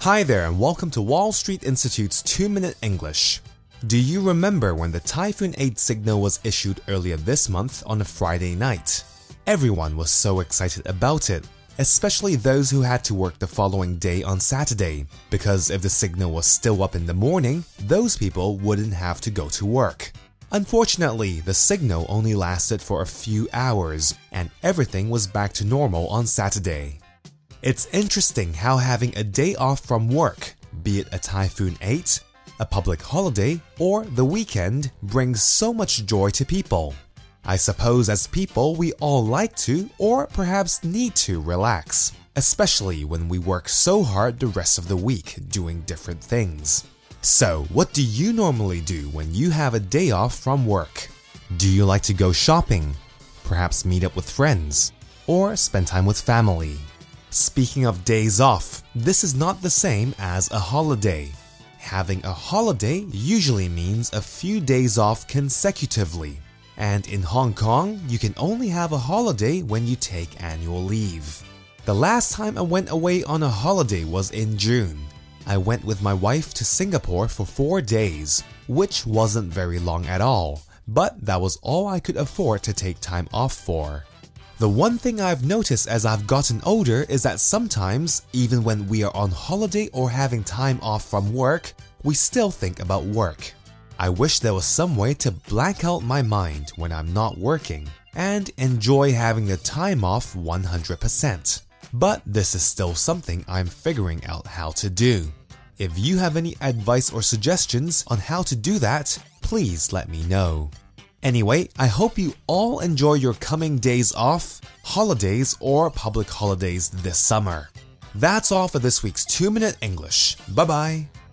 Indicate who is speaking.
Speaker 1: Hi there and welcome to Wall Street Institute's 2-Minute English. Do you remember when the Typhoon 8 signal was issued earlier this month on a Friday night? Everyone was so excited about it, especially those who had to work the following day on Saturday, because if the signal was still up in the morning, those people wouldn't have to go to work. Unfortunately, the signal only lasted for a few hours, and everything was back to normal on Saturday. It's interesting how having a day off from work, be it a Typhoon 8, a public holiday, or the weekend, brings so much joy to people. I suppose as people we all like to, or perhaps need to, relax, especially when we work so hard the rest of the week doing different things. So, what do you normally do when you have a day off from work? Do you like to go shopping? Perhaps meet up with friends? Or spend time with family? Speaking of days off, this is not the same as a holiday. Having a holiday usually means a few days off consecutively. And in Hong Kong, you can only have a holiday when you take annual leave. The last time I went away on a holiday was in June. I went with my wife to Singapore for 4 days, which wasn't very long at all, but that was all I could afford to take time off for. The one thing I've noticed as I've gotten older is that sometimes, even when we are on holiday or having time off from work, we still think about work. I wish there was some way to blank out my mind when I'm not working and enjoy having the time off 100%. But this is still something I'm figuring out how to do. If you have any advice or suggestions on how to do that, please let me know. Anyway, I hope you all enjoy your coming days off, holidays, or public holidays this summer. That's all for this week's 2-Minute English. Bye-bye.